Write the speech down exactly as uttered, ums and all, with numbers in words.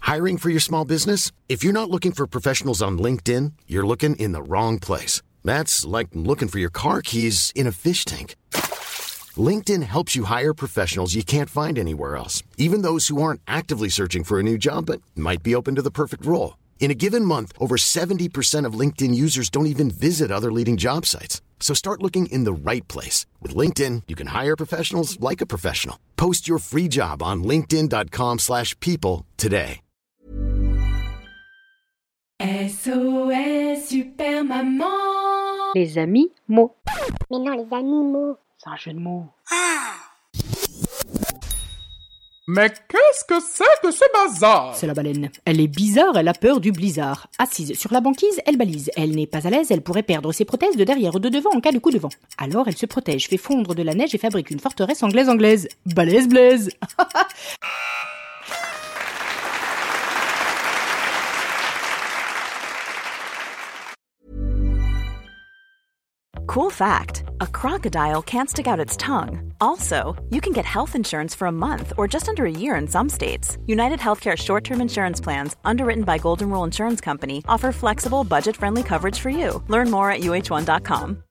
Hiring for your small business? If you're not looking for professionals on LinkedIn, you're looking in the wrong place. That's like looking for your car keys in a fish tank. LinkedIn helps you hire professionals you can't find anywhere else, even those who aren't actively searching for a new job but might be open to the perfect role. In a given month, over seventy percent of LinkedIn users don't even visit other leading job sites. So start looking in the right place. With LinkedIn, you can hire professionals like a professional. Post your free job on linkedin.com slash people today. S O S Super Maman. Les amis mots. Mais non, les animaux. C'est un jeu de mots. Ah! Mais qu'est-ce que c'est que ce bazar? C'est la baleine. Elle est bizarre, elle a peur du blizzard. Assise sur la banquise, elle balise. Elle n'est pas à l'aise, elle pourrait perdre ses prothèses de derrière ou de devant en cas de coup de vent. Alors elle se protège, fait fondre de la neige et fabrique une forteresse anglaise-anglaise. Balèze blaise. Cool fact, a crocodile can't stick out its tongue. Also, you can get health insurance for a month or just under a year in some states. United Healthcare short-term insurance plans, underwritten by Golden Rule Insurance Company, offer flexible, budget-friendly coverage for you. Learn more at U H one dot com.